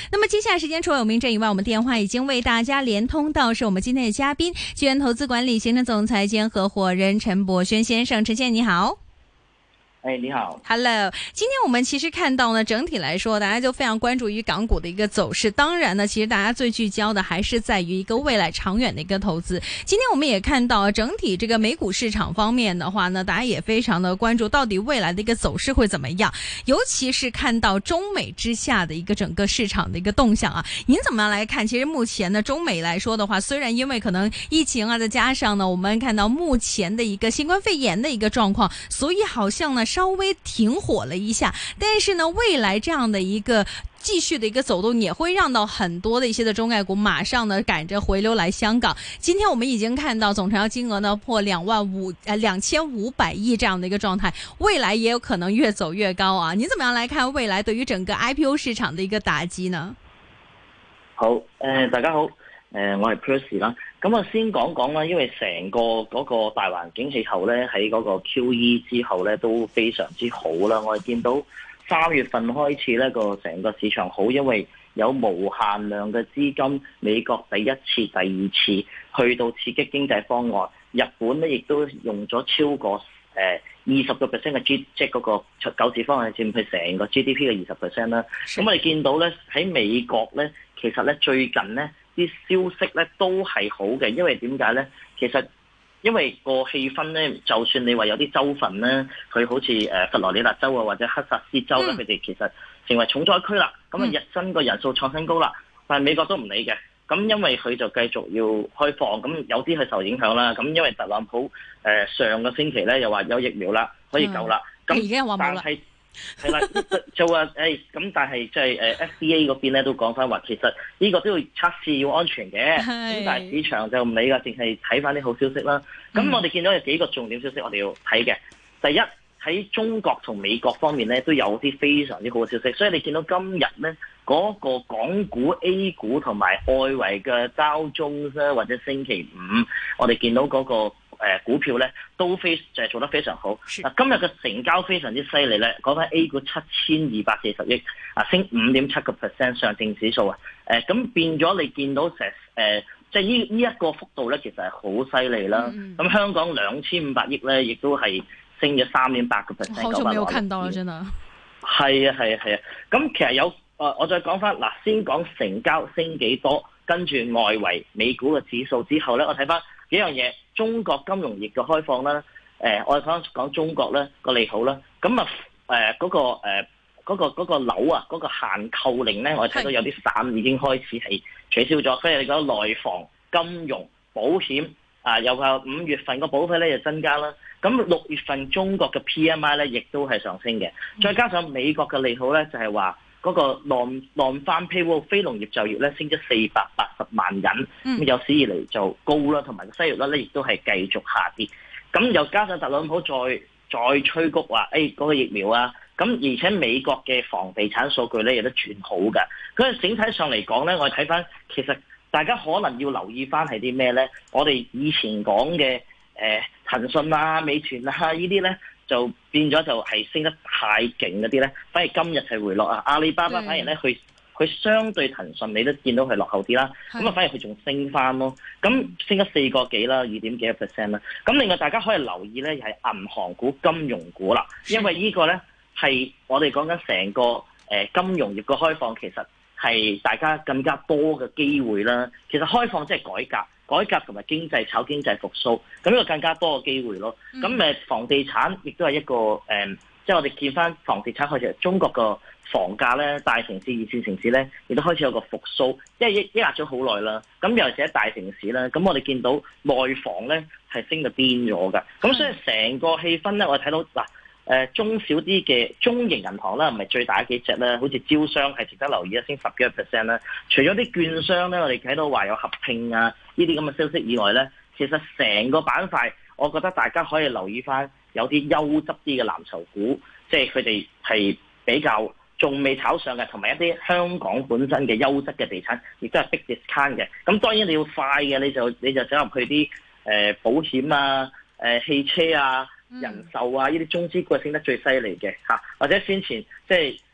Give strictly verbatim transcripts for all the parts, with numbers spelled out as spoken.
那麼接下來時間除了有名正以外，我們電話已經為大家連通到是我們今天的嘉賓，鉅元投資管理行政總裁兼合夥人陳柏軒先生。陳先生你好。 哎，你好 ，Hello。今天我們其實看到呢，整體來說，大家就非常關注於港股的一個走勢。當然呢，其實大家最聚焦的還是在於一個未來長遠的一個投資。今天我們也看到，整體這個美股市場方面的話呢，大家也非常的關注到底未來的一個走勢會怎麼樣。尤其是看到中美之下的一個整個市場的一個動向啊，您怎麼樣來看？其實目前呢，中美來說的話，雖然因為可能疫情啊，再加上呢，我們看到目前的一個新冠肺炎的一個狀況，所以好像呢，稍微停火了一下，但是呢，未來這樣的一個繼續的一個走動，也會讓到很多的一些的中概股馬上呢趕着回流來香港。今天我們已經看到總成交金額呢破兩萬五呃兩千五百億這樣的一個狀態，未來也有可能越走越高啊！你怎麼樣來看未來對於整個 I P O 市場的一個打擊呢？ 好，誒、呃，大家好，誒、呃，我係 Percy 啦。咁啊，先講講啦，因為成個嗰個大環境氣候咧，喺嗰個 Q E 之後咧都非常之好啦。我哋見到三月份開始咧個成個市場好，因為有無限量嘅資金，美國第一次、第二次去到刺激經濟方案，日本咧亦都用咗超過誒二十個 percent 嘅 G， 即係嗰個救市方案佔佢成個 G D P 嘅二十 percent 啦。咁我哋見到咧喺美國咧，其實咧最近咧，啲消息咧都係好嘅，因為點解咧？其實因為個氣氛咧，就算你話有啲州份咧，佢好似誒佛羅里達州啊或者克薩斯州咧，佢哋、嗯、其實成為重災區啦，咁啊日薪個人數創新高啦，但係美國都唔理嘅，咁因為佢就繼續要開放，咁有啲係受影響啦，咁因為特朗普誒、呃、上個星期咧又話有疫苗啦，可以救啦，咁、嗯、但係。係啦，就話誒咁，但係即係誒 F D A 嗰邊咧都講翻話，其實呢個都要測試要安全嘅，咁但係市場就唔理噶，淨係睇翻啲好消息啦。咁我哋見到有幾個重點消息，我哋要睇嘅。第一，喺中國同美國方面咧都有啲非常之好嘅消息，所以你見到今日咧嗰個港股 A 股同埋外圍嘅交中咧，或者星期五我哋見到嗰個。誒、呃、股票咧都非就係做得非常好。嗱，今日嘅成交非常之犀利咧，講緊 A 股七千二百四十億，啊升五點七個 percent 上證指數啊。誒、呃、咁變咗你見到成誒，即係呢呢一個幅度咧，其實係好犀利啦。咁、嗯嗯、香港兩千五百億咧，亦都係升咗三點八個 percent。 好久沒有看到了，真的。 係啊係啊係啊。咁其實有誒、呃，我再講翻嗱，先講成交升幾多，跟住外圍美股嘅指數之後咧，我睇翻幾樣嘢。中國金融業嘅開放啦，誒、呃，我哋講講中國咧個利好啦，咁啊誒嗰個誒嗰、呃那個嗰、那個樓啊嗰、那個限購令咧，我哋睇到有啲散已經開始係取消咗，所以你講內房、金融、保險啊，又話五月份個保費咧就增加啦，咁六月份中國嘅 P M I 咧亦都係上升嘅，再加上美國嘅利好咧就係話。嗰、那個 non non-farm payroll 非農業就業咧升咗四百八十萬人，咁、嗯、有史以嚟就高啦，同埋個失業率咧亦都係繼續下跌。咁又加上特朗普再再催谷話，誒、哎、嗰、那個疫苗啊，咁而且美國嘅房地產數據咧亦都轉好嘅。咁整體上嚟講咧，我哋睇翻其實大家可能要留意翻係啲咩咧？我哋以前講嘅誒騰訊啊、美團啊呢啲咧。就變咗就係升得太勁嗰啲咧，反而今日係回落啊！阿里巴巴反而咧，佢佢相對騰訊你都見到佢落後啲啦，咁啊反而佢仲升翻咯，咁升咗四個幾啦，二點幾個 percent 啦。咁另外大家可以留意咧，係銀行股、金融股啦，因為呢個咧係我哋講緊成個誒金融業嘅開放，其實係大家更加多嘅機會啦。其實開放即係改革。改革同埋經濟炒經濟復甦，咁呢個更加多嘅機會咯。咁誒房地產亦都係一個誒，即、嗯、係、就是、我哋見翻房地產開始，中國個房價咧，大城市、二線城市咧，亦都開始有個復甦，因為抑抑壓咗好耐啦。咁尤其是喺大城市咧，咁我哋見到內房咧係升到癲咗㗎。咁所以成個氣氛咧，我哋睇到嗱。誒中小啲嘅中型銀行啦，唔係最大幾隻啦，好似招商係值得留意一升十幾個 percent 啦。除咗啲券商咧，我哋睇到話有合併啊呢啲咁嘅消息以外咧，其實成個板塊，我覺得大家可以留意翻有啲優質啲嘅藍籌股，即係佢哋係比較仲未炒上嘅，同埋一啲香港本身嘅優質嘅地產，亦都係逼 discount 嘅。咁當然你要快嘅，你就你就走入去啲誒、呃、保險啊、誒、呃、汽車啊。人壽啊，呢啲中資股係升得最犀利嘅嚇，或者先前即係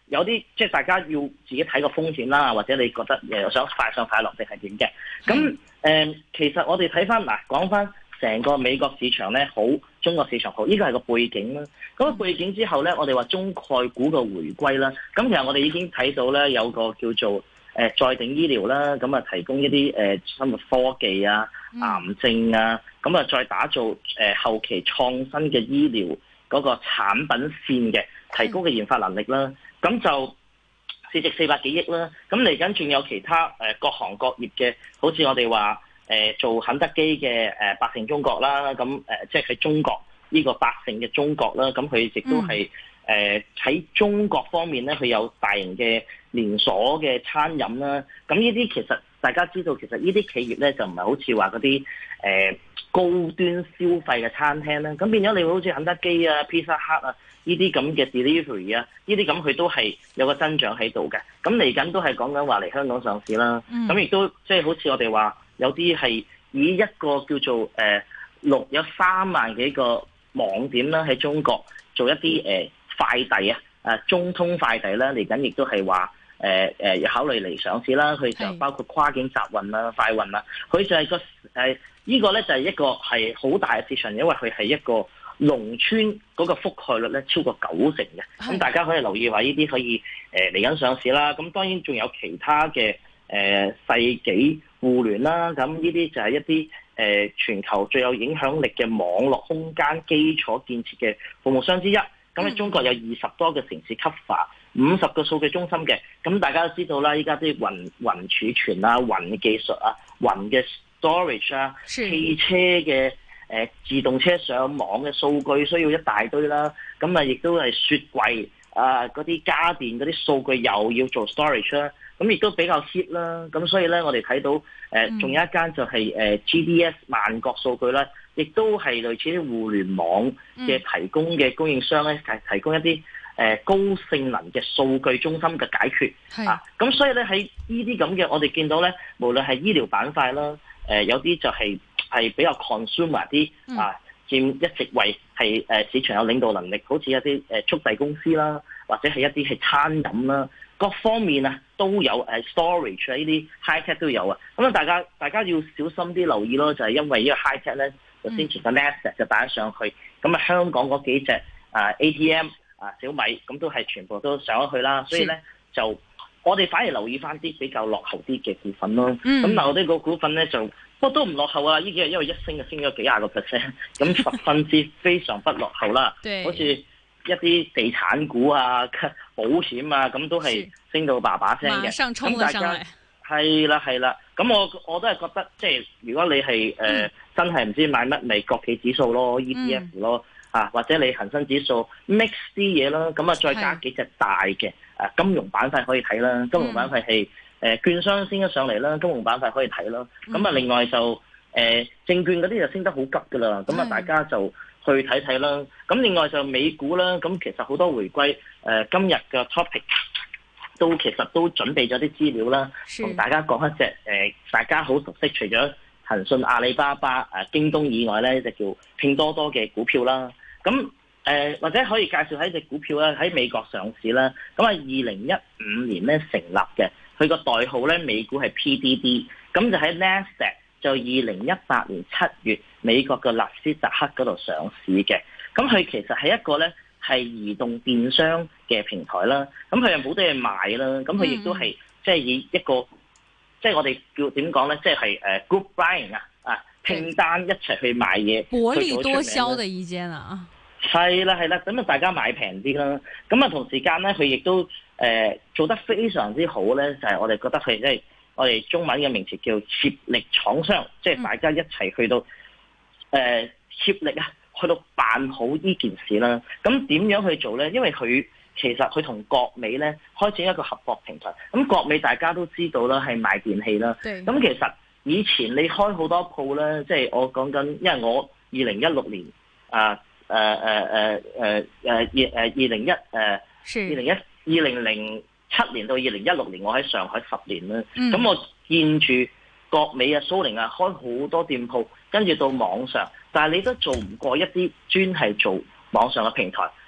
有啲即係大家要自己睇個風險啦，或者你覺得誒想快上快落定係點嘅？咁誒、呃，其實我哋睇翻嗱，講翻成個美國市場咧好，中國市場好，呢個係個背景啦。咁、那個背景之後咧，我哋話中概股嘅回歸啦。咁其實我哋已經睇到咧，有個叫做誒、呃、在定醫療啦，咁啊提供一啲誒生物科技啊、癌症啊，咁啊再打造誒、呃、後期創新嘅醫療嗰個產品線嘅提高嘅研發能力啦。咁就市值四百幾億啦，咁嚟緊仲有其他誒、呃、各行各業嘅，好似我哋話誒做肯德基嘅誒、呃、百勝中國啦，咁誒、呃、即係喺中國呢、這個百勝嘅中國啦，咁佢亦都係誒喺中國方面咧，佢有大型嘅連鎖嘅餐飲啦，咁呢啲其實大家知道，其實呢啲企業咧就唔係好似話嗰啲誒高端消費嘅餐廳啦，咁變咗你會好似肯德基啊、Pizza Hut 啊。呢啲咁嘅 delivery 啊，呢啲咁佢都係有個增長喺度嘅。咁嚟緊都係講緊話嚟香港上市啦。咁亦、嗯、都即係好似我哋話有啲係以一個叫做誒六、呃、有三萬幾個網點啦，喺中國做一啲誒、呃、快遞啊，誒中通快遞啦，嚟緊亦都係話誒誒要考慮嚟上市啦。佢就包括跨境集運啦、快運啦，佢就係個誒、呃這個呢個咧就係一個係好大嘅市場，因為佢係一個。農村嗰個覆蓋率咧超過九成嘅，咁大家可以留意話呢啲可以誒嚟緊上市啦。咁當然仲有其他嘅誒、呃、世紀互聯啦，咁呢啲就係一啲誒、呃、全球最有影響力嘅網絡空間基礎建設嘅服務商之一。咁喺中國有二十多個城市 cover， 五十個數據中心嘅。咁大家都知道啦，依家啲雲雲儲存啊、雲技術啊、雲嘅 storage 啊、汽車嘅。誒自動車上網嘅數據需要一大堆啦，咁啊亦都係雪櫃啊嗰啲家電嗰啲數據又要做 storage 啦，咁亦都比較 hit 啦，咁所以咧我哋睇到誒仲有一間就係誒 G D S 萬國數據啦，亦都係類似啲互聯網嘅提供嘅供應商咧，提提供一啲誒高性能嘅數據中心嘅解決，是啊，咁所以咧喺呢啲咁嘅我哋見到咧，無論係醫療板塊啦，誒有啲就係、是。係比較 consumer 啲啊，佔一席位係誒市場有領導能力，好似一啲誒速遞公司啦，或者係一啲係餐飲啦，各方面啊都有誒 storage 啊呢啲 high tech 都有啊。咁啊，大家大家要小心啲留意咯，就係、是、因為呢個 high tech 咧，就先前個 Nasdaq 就帶咗上去，咁啊香港嗰幾隻啊 A T M 啊小米咁都係全部都上咗去啦，所以咧就我哋反而留意翻啲比較落後啲嘅股份咯。咁、嗯、但我哋個股份咧就。不過都唔落後啊！呢幾日因為一升就升咗幾廿個 percent，咁十分之非常不落後啦。好似一啲地產股啊、保險啊，咁都係升到叭叭聲嘅。咁大家係啦係啦，咁我我都係覺得，即係如果你係誒、呃嗯、真係唔知買乜，咪國企指數咯、E T F 咯、嗯、啊，或者你恒生指數 mix 啲嘢啦，咁啊再加幾隻大嘅誒金融板塊可以睇啦，金融板塊係。誒券商升咗上嚟啦，金融板塊可以睇啦。咁啊，另外就誒、呃、證券嗰啲就升得好急噶啦。咁啊，大家就去睇睇啦。咁另外就美股啦。咁其實好多回歸誒、呃，今日嘅 topic 都其實都準備咗啲資料啦，同大家講一隻誒、呃，大家好熟悉，除咗騰訊、阿里巴巴、誒、啊、京東以外咧，就叫拼多多嘅股票啦。咁誒、呃、或者可以介紹喺隻股票咧，喺美國上市啦。咁啊，二零一五年咧成立嘅。佢個代號咧，美股係 P D D， 咁就喺 Nasdaq 就二零一八年七月美國嘅納斯達克嗰度上市嘅。咁佢其實係一個咧係移動電商嘅平台啦。咁佢又冇得嘢賣啦。咁佢亦都係即係以一個即係、就是、我哋叫點講咧，即係誒 group buying 啊啊拼單一齊去買嘢， 薄利多銷嘅一間啊。 係啦係啦，咁啊大家買平啲啦。咁啊同時間咧，佢亦都。誒、呃、做得非常之好咧，就係、是、我哋覺得佢即係我哋中文嘅名詞叫協力廠商，即、就、係、是、大家一齊去到誒、呃、協力啊，去到辦好呢件事啦。咁點樣去做咧？因為佢其實佢同國美咧開展一個合作平台。咁國美大家都知道啦，係賣電器啦。咁對其實以前你開好多鋪咧，即、就、係、是、我講緊，因為我二零一六年啊誒誒誒誒誒二誒二零一誒二零一。二零零七年到二零一六年，我喺上海十年啦。咁、嗯、我見住國美啊、蘇寧啊開好多店鋪，跟住到網上，但係你都做唔過一啲專係做網上嘅平台。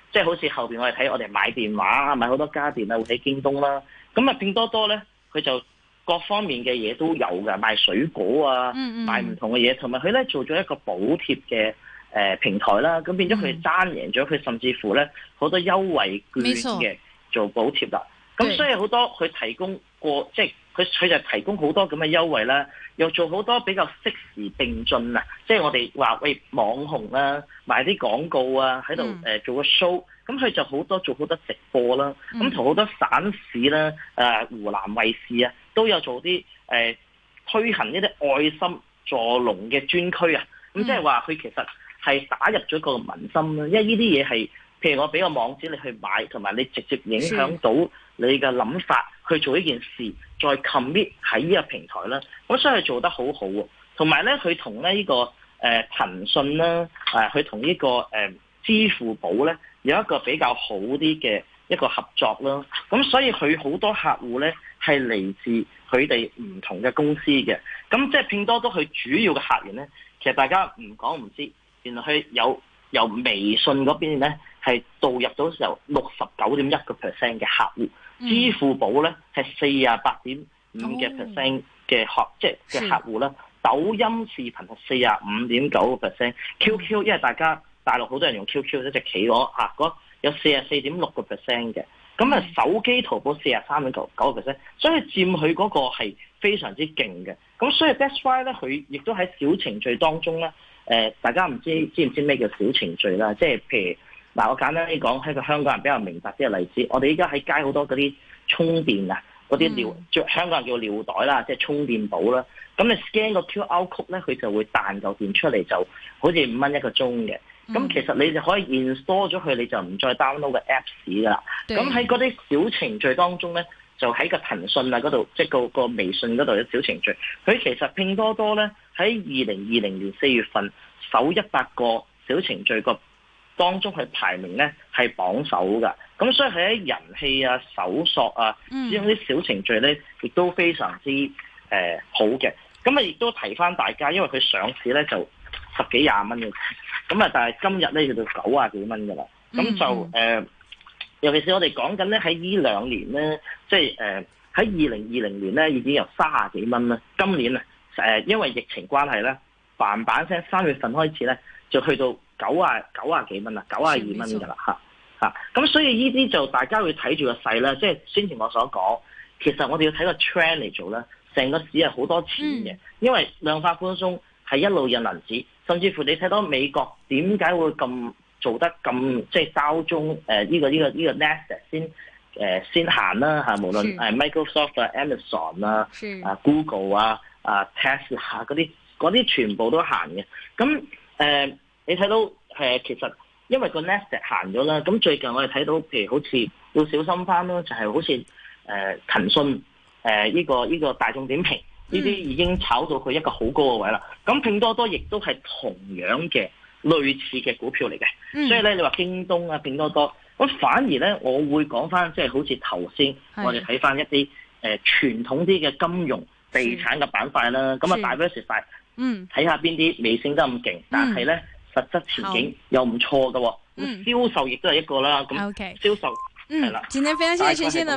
即係好似後邊我哋睇我哋買電話啊，買好多家電啊，會睇京東啦。咁啊拼多多咧，佢就各方面嘅嘢都有㗎，賣水果啊， 嗯嗯賣唔同嘅嘢，同埋佢咧做咗一個補貼嘅誒平台啦。咁變咗佢爭贏咗，佢甚至乎咧好多優惠券嘅做補貼啦。咁所以好多佢提供過，即係佢佢就提供好多咁嘅優惠啦，又做好多比較適時並進啊！即係我哋話喂網紅啊，賣啲廣告啊，喺度誒做個 show，咁佢就好多做好多直播啦，咁同好多省市啦、誒、呃、湖南衛視啊，都有做啲誒、呃、推行一啲愛心助農嘅專區啊！咁即係話佢其實係打入咗個民心啦，因為呢啲嘢係譬如我俾個網址你去買，同埋你直接影響到你嘅諗法去做呢件事，再 commit 喺呢個平台啦。咁所以佢做得好好喎。同埋咧，佢同咧呢個誒、呃、騰訊啦，誒佢同呢個誒、呃、支付寶咧有一個比較好啲嘅一個合作啦。咁所以佢好多客戶咧係嚟自佢哋唔同嘅公司嘅。咁即係拼多多佢主要嘅客源咧，其實大家唔講唔知，原來佢有由微信嗰邊咧係導入到時候六十九點一個 percent 嘅客戶。支付寶咧係四十八點五嘅 percent 嘅客，即係嘅客戶啦。抖音視頻係四十五點九個 percent，Q Q 因為大家大陸好多人用 Q Q 一隻企鵝嚇，嗰有四十四點六個 percent 嘅。咁啊手機淘寶四十三點九九個 percent，所以佔佢嗰個係非常之勁嘅。咁所以 that's why 咧，佢亦都喺小程序當中咧，誒、呃、大家唔知知唔知咩叫小程序啦？即係譬如。嗱，我簡單啲講，喺個香港人比較明白啲嘅例子，我哋依家喺街好多嗰啲充電啊，嗰啲尿，嗯、香港人叫尿袋啦，即係充電寶啦。咁你 scan 個 Q R code 咧，佢就會彈嚿電出嚟，就好似五蚊一個鐘嘅。咁、嗯、其實你就可以 install 咗佢，你就唔再 download 個 Apps 噶啦。咁喺嗰啲小程序當中咧，就喺個騰訊啊嗰度，即係個個微信嗰度有小程序。佢其實拼多多咧喺二零二零年四月份首一百個小程序個當中佢排名咧係榜首㗎，咁所以佢喺人氣啊、搜索啊，使用啲小程序咧，亦都非常之誒、呃、好嘅。咁啊，亦都提翻大家，因為佢上市咧就十幾廿蚊嘅，咁啊，但係今日咧去到九啊幾蚊㗎啦。咁就誒、呃，尤其是我哋講緊咧喺呢兩年咧，即係誒喺二零二零年咧已經有三啊幾蚊啦。今年啊誒、呃，因為疫情關係咧，嘭嘭聲三月份開始咧就去到九啊九啊幾蚊啦，九啊二蚊㗎啦嚇嚇，咁所以呢啲就大家會睇住個勢啦，即係先前我所講，其實我哋要睇個 trend 嚟做啦，成個市係好多錢嘅、嗯，因為量化寬鬆係一路印銀紙，甚至乎你睇到美國點解會咁做得咁即係交中誒呢、呃這個呢、這個呢、這個 Nasdaq 先誒、呃、先行啦嚇，無論誒 Microsoft 啊、Amazon 啊、啊 Google 啊、啊 Tesla 嗰啲嗰啲全部都行嘅，咁誒。呃你睇到誒，其實因為個 Nasdaq 行咗啦，咁最近我哋睇到，譬如好似要小心翻咯，就係、是、好似誒、呃、騰訊誒呢、呃這個呢、這個大眾點評呢啲已經炒到佢一個好高嘅位啦。咁拼多多亦都係同樣嘅類似嘅股票嚟嘅、嗯，所以咧你話京東啊、拼多多，咁反而咧我會講翻，即係好似頭先我哋睇翻一啲誒、呃、傳統啲嘅金融地產嘅板塊啦，咁啊 diversify，嗯，睇下邊啲未升得咁勁，但係咧。實質前景又唔錯嘅，咁銷售亦都係一個啦。咁銷售係啦。 今天非常謝謝陳先生。